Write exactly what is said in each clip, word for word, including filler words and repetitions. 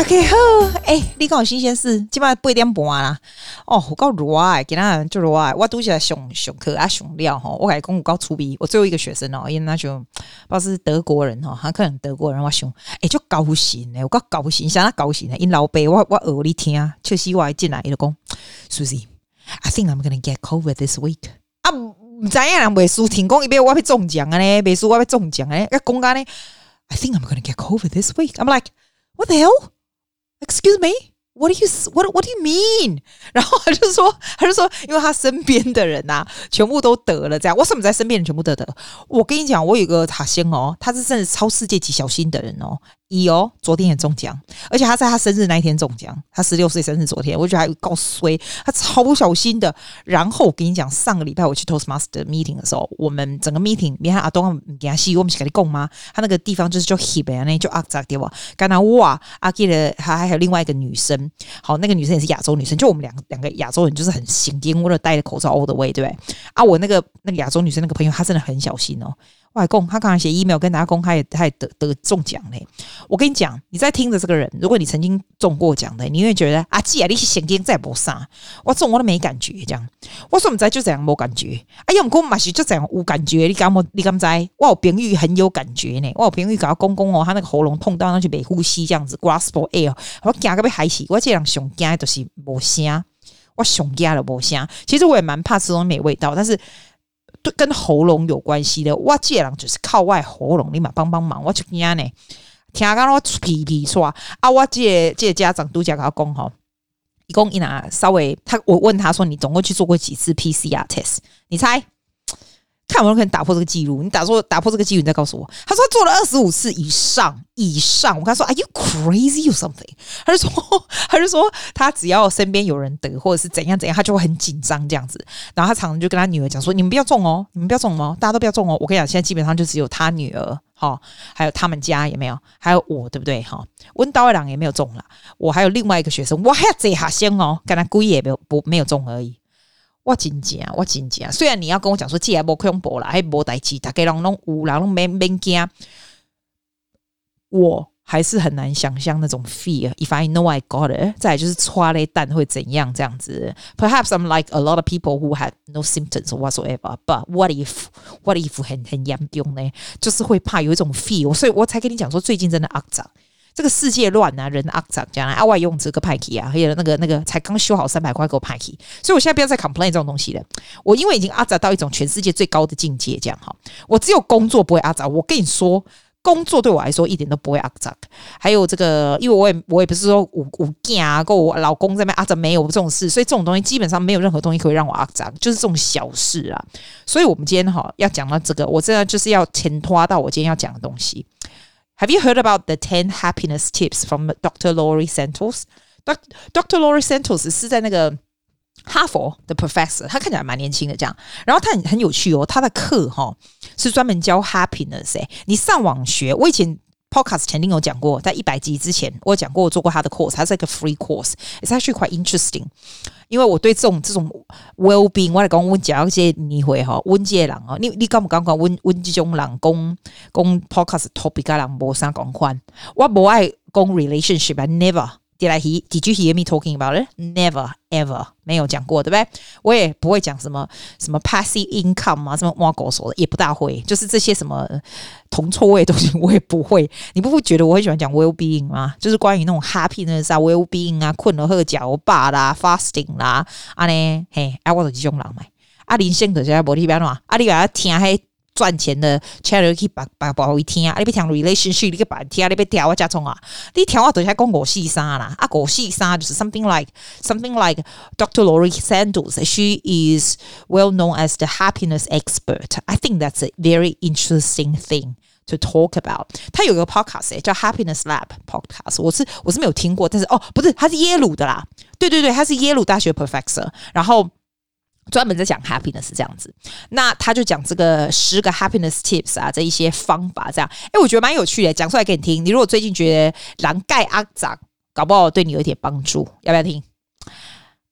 OK 好，哎、欸，你講有新鮮事，基本上八點半啦。哦，有夠熱啊，今仔就熱啊。我拄起上上課啊上料吼，我甲你講有夠趣味。我最後一個學生哦，因為那就不知道是德國人哦，他可能德國人，我想哎、欸，就高興誒，有夠高興，啥高興呢？因老爸我我學你聽，確實我進來伊就講 ，Susie，I think I'm gonna get COVID this week。啊，唔知影人袂輸，聽講伊邊我要中獎啊呢，袂輸我要中獎啊呢，啊講干呢 ，I think I'm gonna get COVID this week。I'm like，what the hell？Excuse me, what do you what what do you mean？ 然後他就說，他就說，因為他身邊的人啊，全部都得了，這樣。為什麼在身邊人全部得得？我跟你講，我有一個塔仙哦，他是真的超世界級小心的人哦。一哦，昨天也中獎，而且他在他生日那一天中獎，他十六歲生日昨天，我覺得還夠衰，他超小心的。然後我跟你講，上個禮拜我去 Toastmaster meeting 的時候，我們整個 meeting，你看阿東給他戲，我們是跟你講嗎？他那個地方就是叫 hip 那就阿扎對吧？剛才哇，阿記得還還有另外一個女生，好，那個女生也是亞洲女生，就我們兩個兩個亞洲人就是很行癲，我都戴着口罩 all the way，對不對？啊，我那個那個亞洲女生那個朋友，她真的很小心哦。我還講，他剛才寫 email 跟大家公開，他也得得中獎嘞。我跟你講，你在聽着這個人，如果你曾經中過獎的，你會覺得啊，既然你是神經再不上，我中我都沒感覺，這樣。我說我們在就這樣沒感覺，哎呀，我們嘛是就這樣有感覺，你敢沒？你敢知？我有朋友很有感覺呢，我有朋友跟他公公哦，他那個喉嚨痛到那去沒呼吸，這樣子 grasp air， 我驚個被害死。我這人上驚的就是沒聲，我上驚了沒聲。其實我也蠻怕吃東西沒味道，但是。跟喉嚨有關係的，我這人就是靠外喉嚨，你嘛幫幫忙，我就驚呢。聽講我皮皮說啊，我這個、這個、家長都講跟他講吼，一共一拿稍微他我問他說，你總共去做過幾次 P C R test？ 你猜？看有沒有可能打破這個記錄？你打說打破這個記錄，你再告訴我。他說他做了二十五次以上以上。我跟他說 ，Are you crazy or something？ 他就說，他就說他只要身邊有人得或者是怎樣怎樣，他就會很緊張這樣子。然後他常常就跟他女兒講說：“你們不要中哦，你們不要中哦，大家都不要中哦。”我跟你講，現在基本上就只有他女兒哈，還有他們家也沒有，還有我，對不對哈？溫刀二郎也沒有中了，我還有另外一個學生，我還要這下先哦，跟他故意也沒有不沒有中而已。我真正我真正雖然你要跟我講說，這還沒恐怖啦，還沒代誌，大家人都有人都免免驚，我還是很難想象那種 fear。If I know I got it， 再來就是剉咧蛋會怎樣這樣子。Perhaps I'm like a lot of people who had no symptoms whatsoever. But what if what if 很很嚴重呢？就是會怕有一種 fear， 所以我才跟你講說，最近真的骯髒。這個世界亂啊，人骯髒，這樣啊，外用這個派氣啊，還有那個那個才剛修好三百塊給我派氣，所以我現在不要再 complain 這種東西了。我因為已經骯髒到一種全世界最高的境界，這樣哈。我只有工作不會骯髒，我跟你說，工作對我來說一點都不會骯髒。還有這個，因為我也我也不是說我我囝啊，跟我老公在那邊骯髒，沒有這種事，所以這種東西基本上沒有任何東西可以讓我骯髒，就是這種小事啊。所以我們今天哈要講到這個，我真的就是要前拖到我今天要講的東西。Have you heard about the ten happiness tips from Doctor Laurie Santos? Doctor Laurie Santos 是在那個哈佛的 professor， 他看起來蠻年輕的這樣。然後他很很有趣哦，他的課哈、哦、是專門教 happiness 誒。你上網學，我以前 podcast 曾經有講過，在一百集之前我有講過，我做過他的 course， 它是一個 free course。It's actually quite interesting， 因為我對這種這種 well-being， 我來講我講一些你會哈，溫介人哦，你你敢不敢講溫溫這種人講講 podcast topic 嘅人無啥講款，我無愛講 relationship，I never did I hear did you hear me talking about it? Never ever 沒有講過，對不對？我也不會講什麼什麼 passive income 啊，什麼挖狗手的也不大會，就是這些什麼銅臭味的東西我也不會。你不會覺得我很喜歡講 well-being 嗎？就是關於那種 happiness 啊 well-being 啊，困了喝腳吧啦 fasting 啦啊呢嘿，啊我就是這種人嘛。啊人生就是無你變怎，啊你把它聽迄賺錢的 channel 去把把把會聽啊，你別聽 relationship 你去把聽，你別聽我加聰啊，你聽我都是在講五四三啦，啊五四三就是 something like something like Doctor Laurie Santos, she is well known as the happiness expert. I think that's a very interesting thing to talk about. 他有個 podcast 叫 Happiness Lab podcast， 我是我是沒有聽過，但是哦不是，他是耶魯的啦，對對對，他是耶魯大學 professor， 然後。專門在講 happiness 這樣子，那他就講這個十個 happiness tips 啊，這一些方法這樣，哎，我覺得蠻有趣的，講出來給你聽。你如果最近覺得人蓋骯髒，搞不好對你有一點幫助，要不要聽？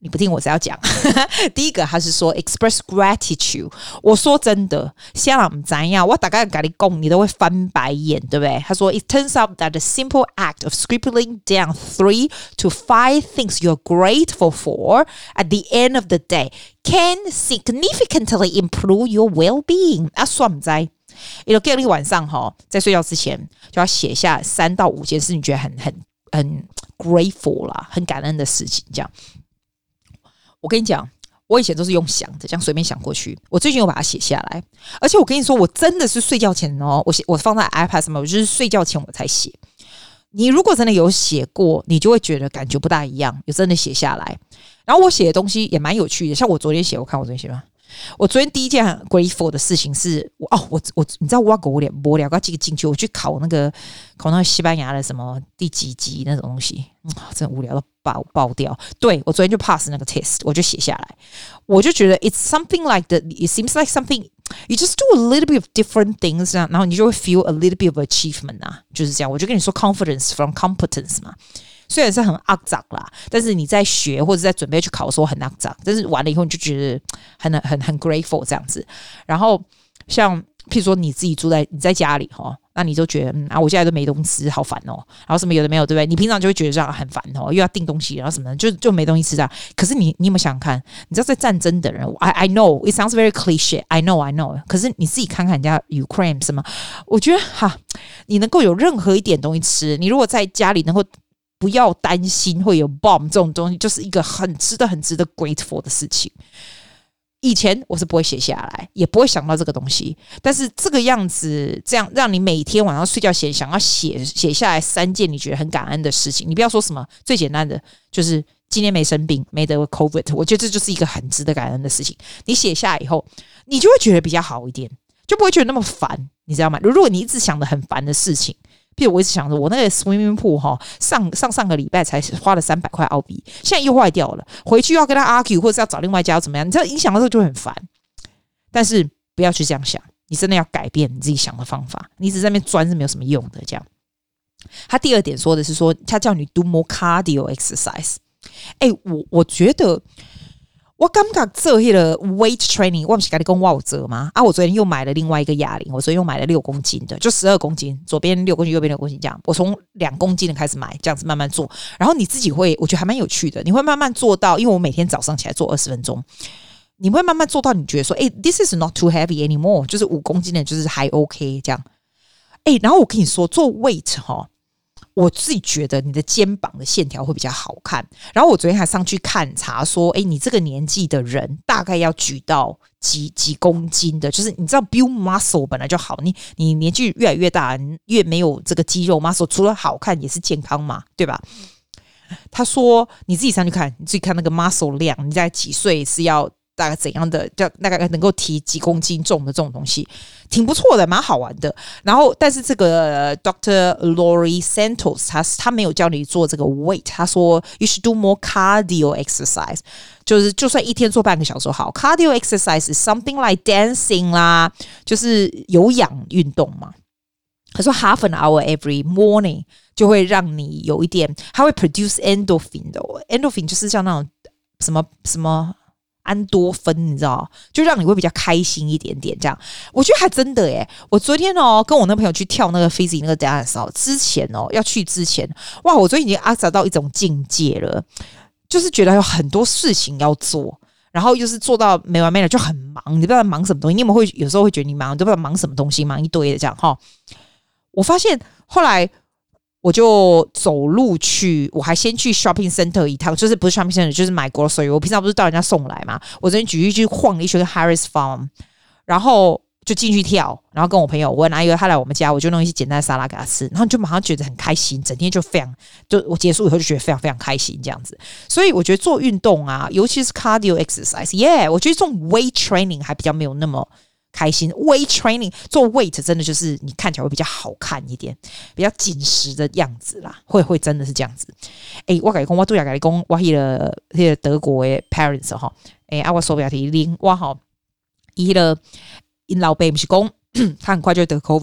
你不聽我是要講。第一個他是說 express gratitude。我說真的，現在我們怎樣，我大概跟你講，你都會翻白眼，對不對？他說 it turns out that the simple act of scribbling down three to five things you're grateful for at the end of the day can significantly improve your well-being。啊，算不在，也就叫你晚上哈，在睡覺之前就要寫下三到五件事，你覺得很很很 grateful 啦，很感恩的事情，這樣。我跟你講，我以前都是用想的，這樣隨便想過去。我最近有把它寫下來，而且我跟你說，我真的是睡覺前哦，我寫我放在 iPad 上面，我就是睡覺前我才寫。你如果真的有寫過，你就會覺得感覺不大一樣。有真的寫下來，然後我寫的東西也蠻有趣的。像我昨天寫，我看我昨天寫嗎？我昨天第一件很 grateful 的事情是，哦，我我你知道我要狗臉我聊個這個進去，我去考那個考那個西班牙的什麼第幾級那種東西，嗯、真的無聊到爆爆掉。對，我昨天就 pass 那個 test， 我就寫下來，我就覺得 it's something like the it seems like something you just do a little bit of different things， 然後你就會 feel a little bit of achievement 啊，就是這樣。我就跟你說 confidence from competence 嘛。雖然是很骯髒啦，但是你在學或者在準備去考的時候很骯髒，但是完了以後你就覺得很很很 grateful 這樣子。然後像譬如說你自己住在你在家裡齁，那你就覺得嗯啊，我現在都沒東西吃，好煩哦。然後什麼有的沒有，對不對？你平常就會覺得這樣很煩哦，又要訂東西，然後什麼的就就沒東西吃這樣。可是你你有沒有想想看，你知道在戰爭的人 I I know it sounds very cliche I know I know， 可是你自己看看人家 Ukraine 什麼，我覺得哈，你能夠有任何一點東西吃，你如果在家裡能夠不要擔心會有 bomb 這種東西，就是一個很值得很值得 grateful 的事情。以前我是不會寫下來，也不會想到這個東西，但是這個樣子，這樣讓你每天晚上睡覺前想要寫寫下來三件你覺得很感恩的事情。你不要說什麼最簡單的，就是今天沒生病，沒得 COVID， 我覺得這就是一個很值得感恩的事情。你寫下來以後，你就會覺得比較好一點，就不會覺得那麼煩，你知道嗎？如果你一直想的很煩的事情。譬如我一直想着，我那個 swimming pool 哈，上上上個禮拜才花了三百塊澳幣，現在又壞掉了，回去要跟他 argue 或者是要找另外一家要怎麼樣？你知道影響的時候就會很煩，但是不要去這樣想，你真的要改變你自己想的方法，你一直在那邊鑽是沒有什麼用的。這樣，他第二點說的是說，他叫你 do more cardio exercise。哎、欸，我我覺得。我感覺做那個 weight training， 我不是跟你說我有做嗎？啊，我昨天又買了另外一個啞鈴，我昨天又買了六公斤的，就十二公斤，左邊六公斤，右邊六公斤這樣。我從兩公斤的開始買，這樣子慢慢做。然後你自己會，我覺得還蠻有趣的，你會慢慢做到，因為我每天早上起來做二十分鐘，你會慢慢做到，你覺得說，哎、欸、，this is not too heavy anymore， 就是五公斤的，就是還 OK 這樣。哎、欸，然後我跟你說，做 weight 哈。我自己覺得你的肩膀的線條會比較好看，然後我昨天還上去看查說，哎，你這個年紀的人大概要舉到幾幾公斤的，就是你知道 build muscle 本來就好，你你年紀越來越大，越沒有這個肌肉 muscle， 除了好看也是健康嘛，對吧？他說你自己上去看，你自己看那個 muscle 量，你在幾歲是要大概怎樣的，就大概能夠提幾公斤重的這種東西，挺不錯的，蠻好玩的。然後，但是這個 Doctor Laurie Santos 他他沒有教你做這個 weight， 他說 you should do more cardio exercise， 就是就算一天做半個小時好。Cardio exercise is something like dancing 啦，就是有氧運動嘛。他說 half an hour every morning 就會讓你有一點，它會 produce endorphin 的 endorphin 就是像那種什麼什麼。安多芬，你知道，就讓你會比較開心一點點。這樣，我覺得還真的耶。我昨天哦，跟我那朋友去跳那個 Fizzy 那個 dance 之前哦，要去之前，哇，我昨天已經阿雜到一種境界了，就是覺得有很多事情要做，然後又是做到沒完沒了，就很忙。你不知道忙什麼東西，你有沒有會有時候會覺得你忙，你都不知道忙什麼東西，忙一堆的這樣哈。我發現後來。我就走路去，我還先去 shopping center 一趟，就是不是 shopping center， 就是買 grocery。我平常不是到人家送來嘛，我昨天舉一去晃了一圈 Harris Farm， 然後就進去跳，然後跟我朋友，我拿一個他來我們家，我就弄一些簡單的沙拉給他吃，然後就馬上覺得很開心，整天就非常，就我結束以後就覺得非常非常開心這樣子。所以我覺得做運動啊，尤其是 cardio exercise，yeah， 我覺得這種 weight training 還比較沒有那麼。開心 weight training 做 weight 真的就是你看起來會比較好看一點，比較緊實的樣子啦，會會真的是這樣子。誒，我跟你講，我都要跟你講，我那個那個德國的 parents 哈，誒，啊，我手錶提拎，我哈，伊個因老爸不是講他很快就會得 COVID 嗎？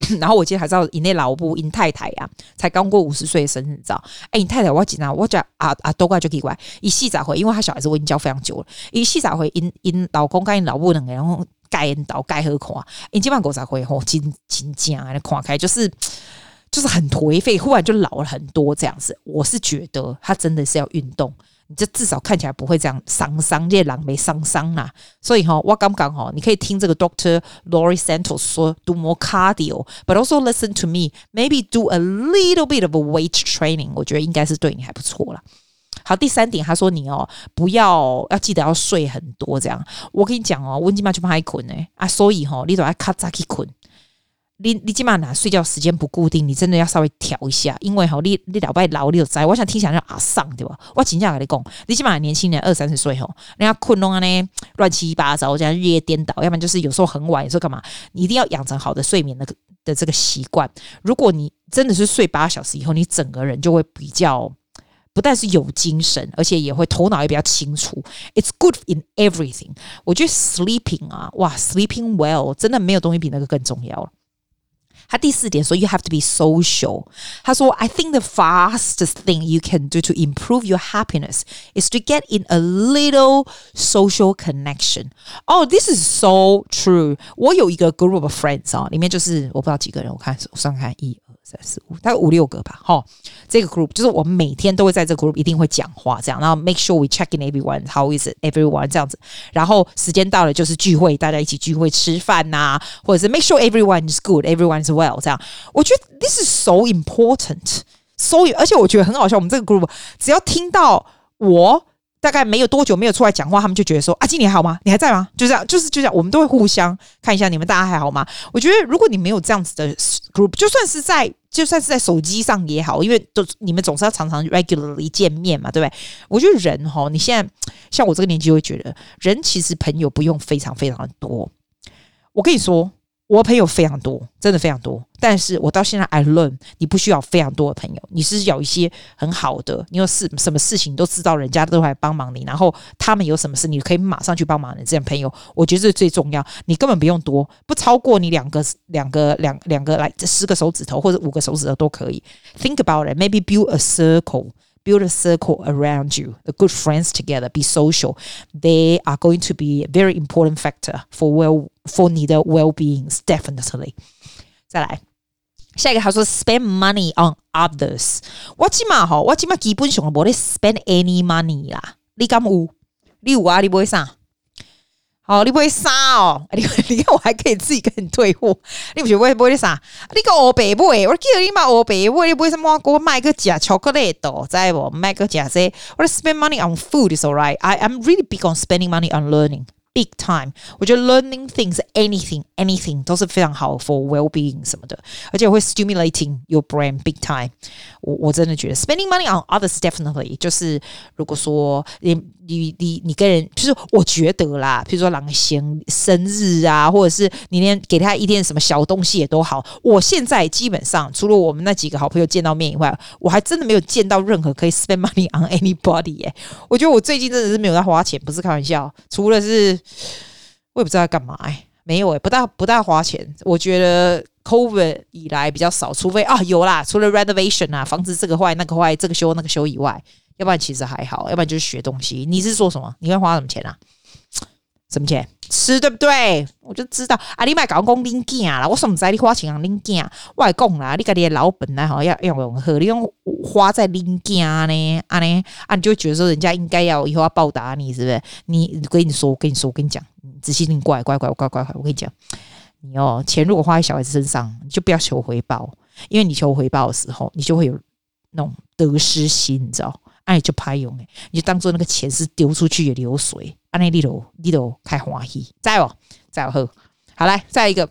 然後我記得還知道，因那老母因太太啊，才剛過五十歲的生日，你知道？哎，你太太我緊張，我講啊啊，都怪就奇怪，一細咋回？因為他小孩子我已經教非常久了，一細咋回？因因老公跟因老母兩個，然後蓋因倒蓋好看，因基本上狗咋回？吼，真真正啊，看開就是就是很頹廢，忽然就老了很多這樣子。我是覺得他真的是要運動。你就至少看起來不會這樣傷傷，這狼沒傷傷啦。所以哈，我剛剛哈，你可以聽這個 Doctor Laurie Santos 說 do more cardio, but also listen to me, maybe do a little bit of a weight training。我覺得應該是對你還不錯啦。好，第三點，他說你哦，不要要記得要睡很多這樣。我跟你講哦，我今晚就不愛困呢啊，所以哈，你都要卡早起困。你你基本上睡覺時間不固定，你真的要稍微調一下，因為你你老爸老你就知道，我想聽起來像阿桑對吧？我真正跟你講，你基本上年輕人二三十歲吼，人家困弄啊呢亂七八糟，這樣日夜顛倒，要不然就是有時候很晚，有時候幹嘛？你一定要養成好的睡眠的的這個習慣。如果你真的是睡八小時以後，你整個人就會比較不但是有精神，而且也會頭腦也比較清楚。It's good in everything。我覺得 sleeping 啊，哇 ，sleeping well 真的沒有東西比那個更重要了。他第四點說 you have to be social。他說 I think the fastest thing you can do to improve your happiness is to get in a little social connection. Oh, this is so true. 我有一個 group of friends 啊，裡面就是我不知道幾個人，我看我算看一二三四五，大概五六個吧。齁，這個 group 就是我們每天都會在這個 group 一定會講話這樣，然後 make sure we check in everyone, how is it everyone 這樣子。然後時間到了就是聚會，大家一起聚會吃飯吶、啊，或者是 make sure everyone is good, everyone is well 這樣。我覺得 this is so important， 所以而且我覺得很好笑，我們這個 group 只要聽到我大概沒有多久沒有出來講話，他們就覺得說啊，今年還好嗎？你還在嗎？就這樣，就是就這樣，我們都會互相看一下你們大家還好嗎？我覺得如果你沒有這樣子的 group， 就算是在就算是在手機上也好，因為都你們總是要常常 regularly 見面嘛，對不對？我覺得人齁，你現在像我這個年紀會覺得，人其實朋友不用非常非常的多。我跟你說。我朋友非常多，真的非常多。但是我到現在 I learn， 你不需要非常多的朋友，你是有一些很好的，你有事什麼事情你都知道，人家都來幫忙你，然後他們有什麼事，你可以馬上去幫忙的這樣朋友，我覺得這是最重要。你根本不用多，不超過你兩個兩個兩兩個來十個手指頭或者五個手指頭都可以。Think about it, maybe build a circle.Build a circle around you, the good friends together, be social. They are going to be a very important factor for well for 你的 well-being, definitely. 再來，下一個他說 spend money on others. 我起碼哈，我起碼基本上沒得 spend any money 啦。你敢有？你有啊？你買啥？好，你買啥哦？你你看我還可以自己跟你退貨，你不是買買的啥？你個歐白買，我記得你買歐白買，你買什麼？我買個假巧克力豆，知無？買個假些，我 spend money on food is alright. I I'm really big on spending money on learning. Big time， 我覺得 learning things, anything, anything 都是非常好 for well-being 什麼的，而且會 stimulating your brain big time。我我真的覺得 spending money on others definitely 就是如果說你你你你跟人，就是我覺得啦，譬如說人生生日啊，或者是你連給他一點什麼小東西也都好。我現在基本上除了我們那幾個好朋友見到面以外，我還真的沒有見到任何可以 spend money on anybody 耶。我覺得我最近真的是沒有在花錢，不是開玩笑，除了是。我也不知道要幹嘛哎、欸，沒有哎、欸，不大不大花錢。我覺得 COVID 以來比較少，除非啊有啦，除了 renovation 啊，房子這個壞那個壞，這個修那個修以外，要不然其實還好，要不然就是學東西。你是說什麼？你會花什麼錢啊？什麼錢？吃對不對？我就知道啊，你別搞講恁囝啦，我怎麼知道你花錢讓恁囝？我來講啦，你家己的老本來好要要用好，你用花在恁囝呢，啊呢啊，你就會覺得說人家應該要以後要報答你，是不是？你我跟你說，我跟你說，我跟你講，仔細聽，乖乖乖乖乖乖，我跟你講，你哦，錢如果花在小孩子身上，你就不要求回報，因為你求回報的時候，你就會有那種得失心，你知道？哎、啊，就拍用哎，你就當做那個錢是丟出去的流水，啊，那你都你都開歡喜，再有再有好，好來再來一個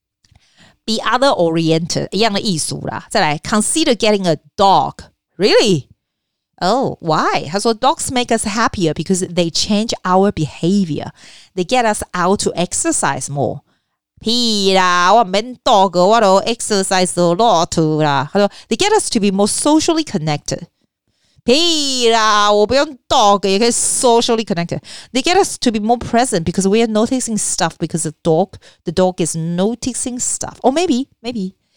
，be other oriented 一樣的意思啦，再來 consider getting a dog really oh why 他說 dogs make us happier because they change our behavior they get us out to exercise more 屁啦我免 dog 我都 exercise a lot 啦他說 they get us to be more socially connected屁啦我不用 dog 也可以 socially connected they get us to be more present because we are noticing stuff because the dog the dog is noticing stuff or maybe maybe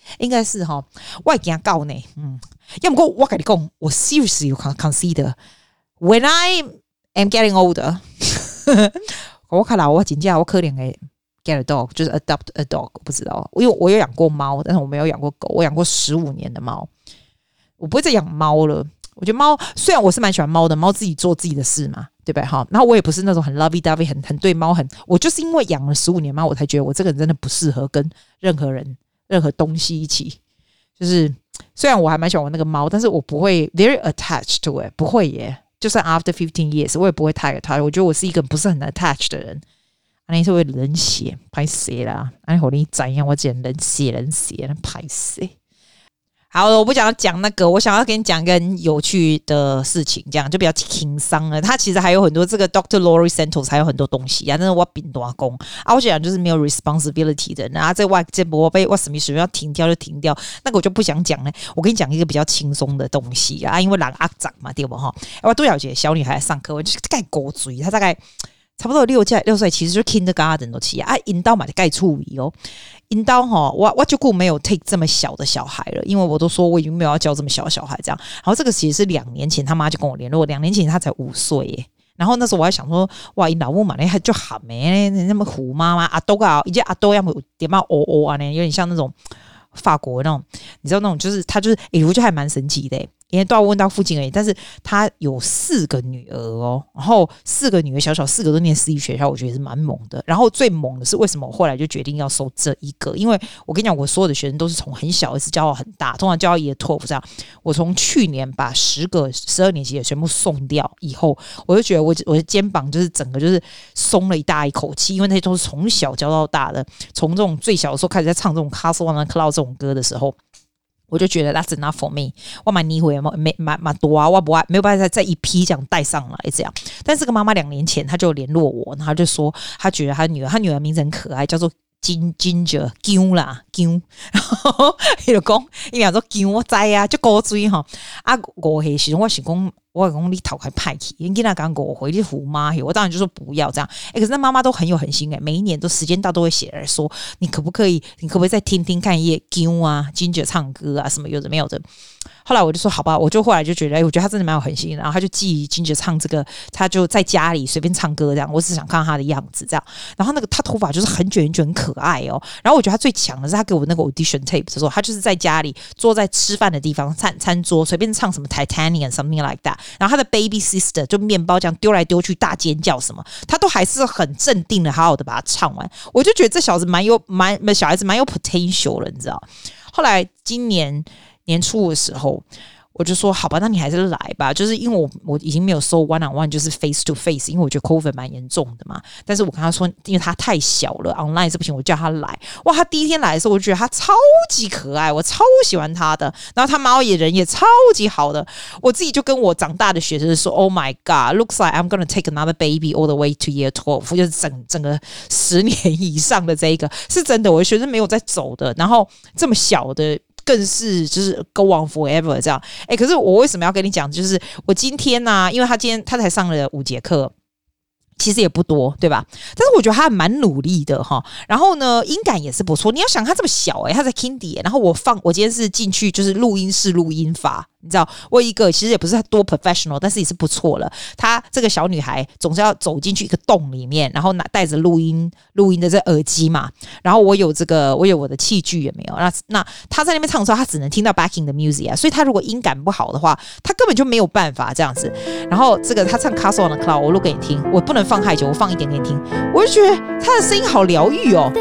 應該是哈，我會驚到呢。嗯，要不過我跟你講，我 seriously you can consider when I am getting older 。我看到我真正我可能會 get a dog， 就是 adopt a dog， 我不知道，因為我有養過貓，但是我沒有養過狗，我養過十五年的貓，我不會再養貓了。我覺得貓雖然我是蠻喜歡貓的，貓自己做自己的事嘛，對不對？哈，然後我也不是那種很 lovey dovey 很很對貓很，我就是因為養了十五年貓，我才覺得我這個人真的不適合跟任何人、任何東西一起。就是雖然我還蠻喜歡我那個貓，但是我不會 very attached to it， 不會耶。就算 after fifteen years， 我也不會太 attached。我覺得我是一個不是很 attached 的人。安尼是會冷血，拍誰啦？安尼和你怎樣？我只能冷血冷血，拍誰？好，我不想要講那個，我想要跟你講一個很有趣的事情，這樣就比較輕鬆了。他其實還有很多這個 doctor Laurie Santos 還有很多東西啊，但是我餅大工啊，我講就是沒有 responsibility 的人啊，這外這波被我什麼什麼要停掉就停掉，那個我就不想講了。我跟你講一個比較輕鬆的東西啊，因為人阿長嘛，對不哈？我都了解小女孩上課，我就是蓋狗嘴，她大概差不多六歲六歲，其實就是 kindergarten 都起啊，引導嘛就蓋處理哦。引導齁，我我就顧沒有 take 這麼小的小孩了，因為我都說我已經沒有要教這麼小的小孩這樣。然後這個其實是兩年前他媽就跟我聯絡，兩年前他才五歲耶。然後那時候我還想說，哇，你老母嘛，那就喊咩，那麼虎媽媽阿多啊，以及阿多要麼點嘛哦哦啊呢，有點像那種法國那種，你知道那種就是他就是，哎、欸，我覺得還蠻神奇的。因為都要問到附近而已，但是他有四個女兒哦，然後四個女兒小小四個都念私立學校，我覺得是蠻猛的。然後最猛的是為什麼我後來就決定要收這一個？因為我跟你講，我所有的學生都是從很小一直教到很大，通常教到一個托福這樣。我從去年把十個十二年級的全部送掉以後，我就覺得我我的肩膀就是整個就是鬆了一大一口氣，因為那些都是從小教到大的，從這種最小的時候開始在唱這種 Castle on the Cloud 這種歌的時候。我就覺得 that's enough for me， 我蠻逆回沒蠻蠻多啊，我不沒有辦法再一批這樣帶上來這樣。但是這個媽媽兩年前她就聯絡我，然後就說她覺得她女兒，她女兒名字很可愛，叫做金 Ginger 姜啦姜，然後伊就講，伊講說姜我知啊，就古錐哈啊五歲時我想講。我講你頭殼歹去，因為那剛我回去虎媽，我當然就說不要這樣。欸、可是那媽媽都很有狠心哎、欸，每一年都時間到都會寫來說，你可不可以，你可不可以再聽聽看葉姜啊、Ginger 唱歌啊什麼有的沒有的。後來我就說好吧，我就後來就覺得，哎、欸，我覺得他真的蠻有狠心的。然後他就寄 Ginger 唱這個，他就在家裡隨便唱歌這樣。我只想看到他的樣子這樣。然後那個他頭髮就是很捲很捲很可愛哦。然後我覺得他最強的是他給我那個 audition tape 的時候，他就是在家裡坐在吃飯的地方餐餐桌隨便唱什麼 Titanic something like that。然後他的 baby sister 就麵包這樣丟來丟去大尖叫什麼，他都還是很鎮定的，好好的把它唱完。我就覺得這小子蠻有蠻小孩子蠻有 potential 了，你知道？後來今年年初的時候。我就說好吧，那你還是來吧。就是因為我我已經沒有收 one on one，就是 face to face， 因為我覺得 COVID 蠻嚴重的嘛。但是我跟他說，因為他太小了 ，online 是不行，我叫他來。哇，他第一天來的時候，我就覺得他超級可愛，我超喜歡他的。然後他貓也人也超級好的。我自己就跟我長大的學生說 ，Oh my God，looks like I'm gonna take another baby all the way to year twelve， 就是整整個十年以上的這一個是真的。我的學生沒有在走的，然後這麼小的。更是就是 go on forever 這樣，哎、欸，可是我為什麼要跟你講？就是我今天呢、啊，因為他今天他才上了五節課，其實也不多，對吧？但是我覺得他還蠻努力的哈。然後呢，音感也是不錯。你要想他這麼小哎、欸，他在 Kindy，、欸、然後我放我今天是進去就是錄音室錄音法。你知道，我一個其實也不是多 professional， 但是也是不錯了。她這個小女孩總是要走進去一個洞裡面，然後拿帶着錄音錄音的這耳機嘛。然後我有這個，我有我的器具也沒有。那那她在那邊唱的時候，她只能聽到 backing 的 music 啊。所以她如果音感不好的話，她根本就沒有辦法這樣子。然後這個她唱 Castle on the Cloud， 我錄給你聽，我不能放太久，我放一點點聽。我就覺得她的聲音好療癒哦，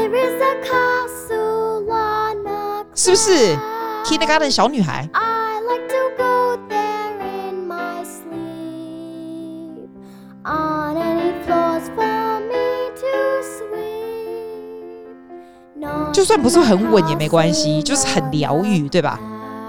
是不是 ？Kindergarten 小女孩。 On any floors for me to sweep. No, 就算不是很穩也沒關係，就是很療癒，對吧？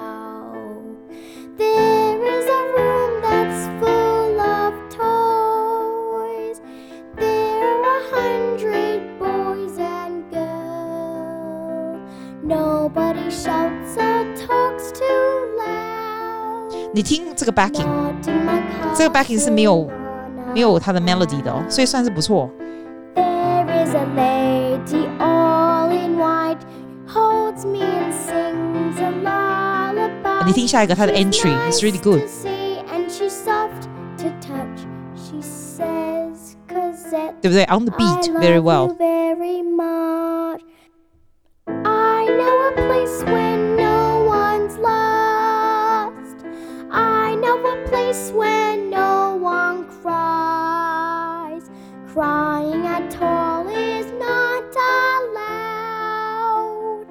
There is a room that's full of toys. There are a hundred boys and girls. Nobody shouts or talks too loud. 你聽這個 backing， 這個 backing 是沒有。沒有他的 melody 的哦，所以算是不錯。 There is a lady all in white, holds me and sings a lullaby. 你听下一个，他的 entry is really good. And she's soft to touch. She says, Cosette, 对不对 ？On the beat, very well. I love you very much. I know a place where no one's lost. I know a place where no one cries. Crying at all is not allowed.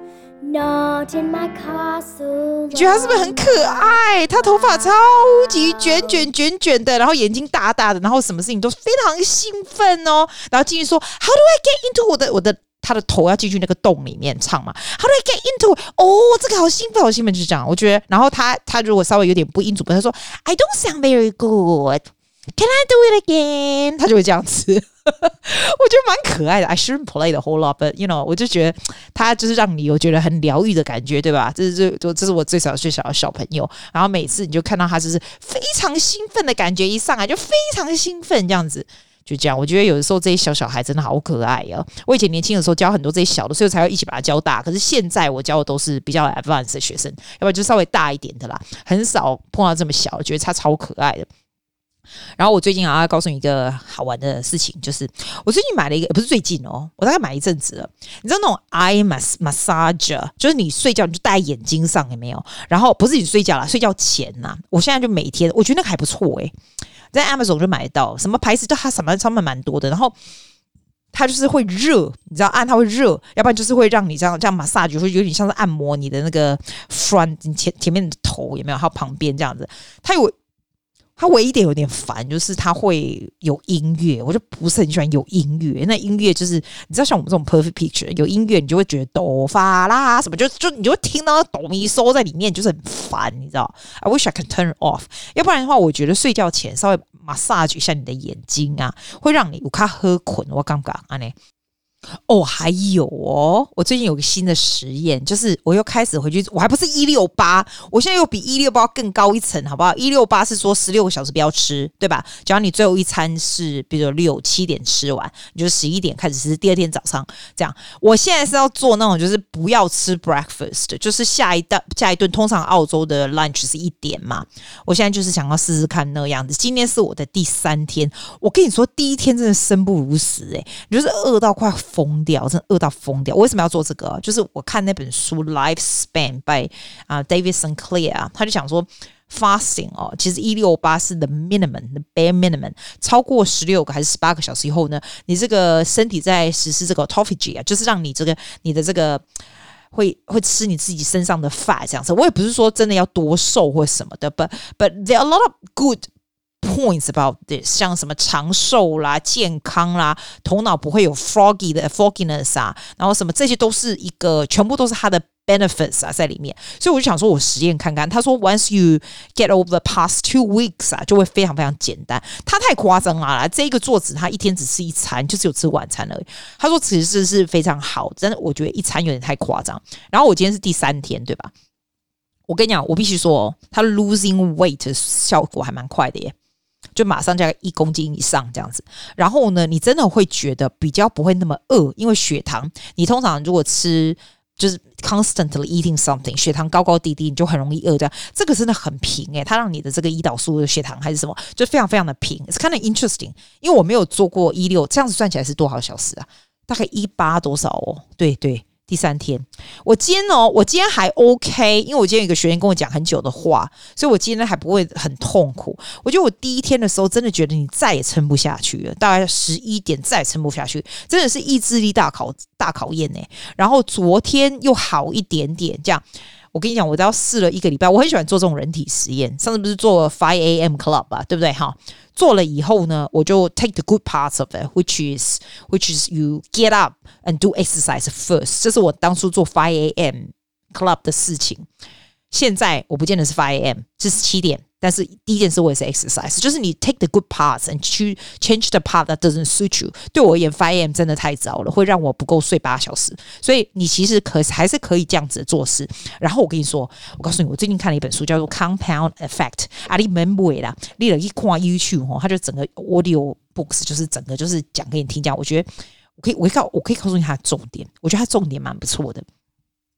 Not in my castle. 你觉得他是不是很可愛？他頭髮超級捲捲捲捲的，然後眼睛大大的，然後什麼事情都非常興奮哦。然後進去說 ，How do I get into 我的我的他的頭要進去那個洞裡面唱嘛 ？How do I get into？ 哦，這個好興奮，好興奮，就是這樣。我覺得，然後他他如果稍微有點不音準，他說 I don't sound very good。Can I do it again？ 他就會這樣子，我覺得蠻可愛的。I shouldn't play the whole lot, but you know， 我就覺得他就是讓你有覺得很療癒的感覺，對吧？這是這這是我最小最小的小朋友，然後每次你就看到他就是非常興奮的感覺，一上來就非常興奮這樣子。就這樣，我覺得有的時候這些小小孩真的好可愛哦。我以前年輕的時候教很多這些小的，所以我才會一起把他教大。可是現在我教的都是比較 advanced 的學生，要不然就稍微大一點的啦，很少碰到這麼小，我覺得他超可愛的。然後我最近啊，要告訴你一個好玩的事情，就是我最近買了一個，不是最近哦，我大概買一陣子了。你知道那種 eye massager， 就是你睡覺你就戴在眼睛上，有沒有？然後不是你睡覺啦，睡覺前吶，我現在就每天，我覺得那個還不錯誒，在 Amazon 就買得到，什麼牌子就它什麼上面蠻多的，然後它就是會熱，你知道按它會熱，要不然就是會讓你這樣這樣 massage， 會有點像是按摩你的那個 front 前前面的頭，有沒有？還有旁邊這樣子，它有。它唯一一點有點煩，就是它會有音樂，我就不是很喜歡有音樂。那音樂就是你知道，像我們這種 perfect picture 有音樂，你就會覺得哆發啦什麼，就就你就會聽到哆咪嗦在裡面，就是很煩，你知道 ？I wish I could turn it off。要不然的話，我覺得睡覺前稍微 massage 一下你的眼睛啊，會讓你有卡喝困。我剛剛啊呢。哦，還有哦，我最近有個新的實驗，就是我又開始回去，我還不是一六八，我現在又比一六八更高一層，好不好？一六八是說十六個小時不要吃，對吧？只要你最後一餐是，比如說六七點吃完，你就十一點開始吃，第二天早上這樣。我現在是要做那種，就是不要吃 breakfast，就是下一頓下一頓，通常澳洲的 lunch 是一點嘛，我現在就是想要試試看那樣子。今天是我的第三天，我跟你說，第一天真的生不如死，誒，你就是餓到快瘋掉，真的餓到瘋掉。我為什麼要做這個？就是我看那本書《Lifespan》by 啊、uh, David Sinclair，他就講說 fasting 哦，其實一六八是 the minimum，the bare minimum， 超過十六個還是十八個小時以後呢，你這個身體在實施這個 autophagy 啊，就是讓你這個你的這個會會吃你自己身上的 fat 這樣子。我也不是說真的要多瘦或什麼的 ，but but there are a lot of good points about this， 像什麼長壽啦、健康啦、頭腦不會有 foggy 的 fogginess 啊，然後什麼這些都是一個，全部都是它的 benefits 啊在裡面。所以我就想說，我實驗看看。他說 ，once you get over the past two weeks 啊，就會非常非常簡單。他太誇張了啦，這個作者他一天只吃一餐，就只有吃晚餐而已。他說其實是非常好，真的，我覺得一餐有點太誇張。然後我今天是第三天，對吧？我跟你講，我必須說哦，他 losing weight 的效果還蠻快的耶。就馬上加一公斤以上這樣子，然後呢，你真的會覺得比較不會那麼餓，因為血糖，你通常如果吃就是 constantly eating something， 血糖高高低低，你就很容易餓這樣。這個真的很平誒、欸，它讓你的這個胰島素的血糖還是什麼，就非常非常的平。It's kind of interesting， 因為我沒有做過一六，這樣子算起來是多少小時啊？大概一八多少哦？對對。第三天，我今天哦，我今天還 OK， 因為我今天有一個學員跟我講很久的話，所以我今天還不會很痛苦。我覺得我第一天的時候真的覺得你再也撐不下去了，大概十一點再也撐不下去，真的是意志力大考大考驗呢。然後昨天又好一點點，這樣。我跟你講，我都要試了一個禮拜。我很喜歡做這種人體實驗。上次不是做 five A M Club 吧，對不對？哈，做了以後呢，我就 take the good parts of it, which is which is you get up and do exercise first。這是我當初做 five A M Club 的事情。現在我不見得是five A M， 這是七點。但是第一件事我也是 exercise， 就是你 take the good parts and change the part that doesn't suit you。對我而言 five A M 真的太早了，會讓我不夠睡八小時。所以你其實可還是可以這樣子做事。然後我跟你說，我告訴你，我最近看了一本書叫做 Compound Effect， 啊你免買啦，你了一看 YouTube 哦，它就整個 audio books 就是整個就是講給你聽，這樣我覺得我可以我可以告我可以告訴你它的重點，我覺得它重點蠻不錯的。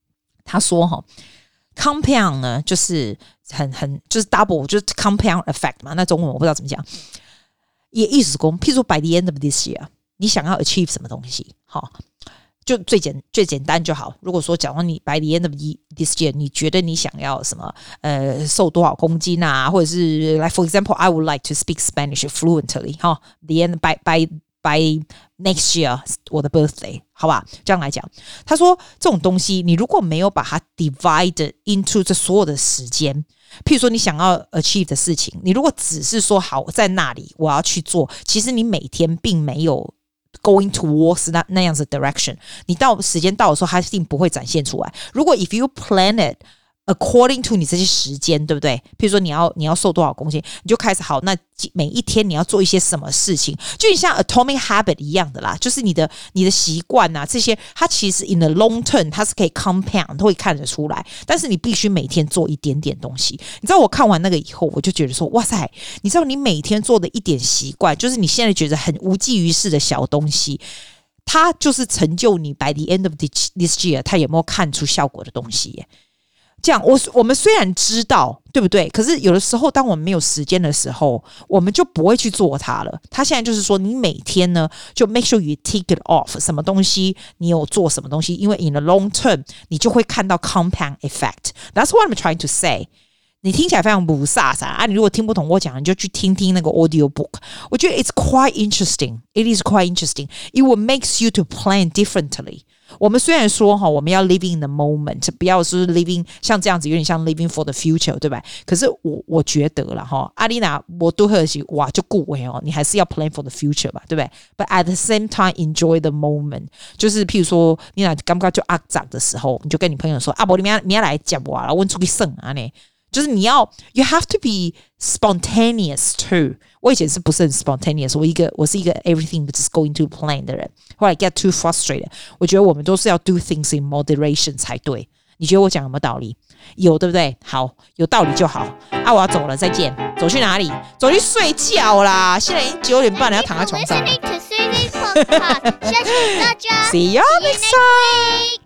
他說哈 ，compound 呢就是很很就是 double 就是 compound effect 嘛，那中文我不知道怎麼講，也意思是說，譬如說 by the end of this year， 你想要 achieve 什麼東西，好。就最簡最簡單就好。如果說假如你 by the end of this year， 你覺得你想要什麼？呃，瘦多少公斤啊？或者是 like for example, I would like to speak Spanish fluently。哈 ，the end by by by next year， 我的 birthday， 好吧？這樣來講，他說這種東西，你如果沒有把它 divide into 這所有的時間，譬如說你想要 achieve 的事情，你如果只是說好在那裡我要去做，其實你每天並沒有。Going towards 那那樣子的 direction， 你到時間到的時候，它一定不會展現出來。如果 if you plan it according to 你這些時間，對不對？譬如說你要你要瘦多少公斤，你就開始好，那每一天你要做一些什麼事情，就像 atomic habit 一樣的啦，就是你的你的習慣啊，這些它其實 in the long term 它是可以 compound， 都會看得出來。但是你必須每天做一點點東西。你知道我看完那個以後，我就覺得說，哇塞，你知道你每天做的一點習慣，就是你現在覺得很無濟於事的小東西，它就是成就你 by the end of this year， 它有沒有看出效果的東西耶。這樣，我我們雖然知道，對不對？可是有的時候，當我們沒有時間的時候，我們就不會去做它了。他現在就是說，你每天呢，就 make sure you tick it off， 什麼東西你有做什麼東西，因為 in the long term， 你就會看到 compound effect。That's what I'm trying to say。你聽起來非常不颯颯啊！你如果聽不懂我講，你就去聽聽那個 audio book。我覺得 it's quite interesting. It is quite interesting. It will makes you to plan differently。我們雖然說哈，我們要 living in the moment， 不要是 living 像這樣子，有點像 living for the future， 對吧？可是我我覺得啦哈，阿麗娜，我都很喜哇，就顧為哦，你還是要 plan for the future 吧，對不對 ？But at the same time, enjoy the moment。就是譬如說，你那剛剛就阿長的時候，你就跟你朋友說啊，不，你們你要來講我啦，我出去省啊呢。就是你要 you have to be spontaneous too。我以前是不是很 spontaneous？ 我一個我是一個 everything just going to plan 的人。後來 get too frustrated。我覺得我們都是要 do things in moderation 才對。你覺得我講有沒有道理？有，對不對？好，有道理就好。啊，我要走了，再見。走去哪裡？走去睡覺啦！現在已經九點半了，要躺在床上了。See you next time.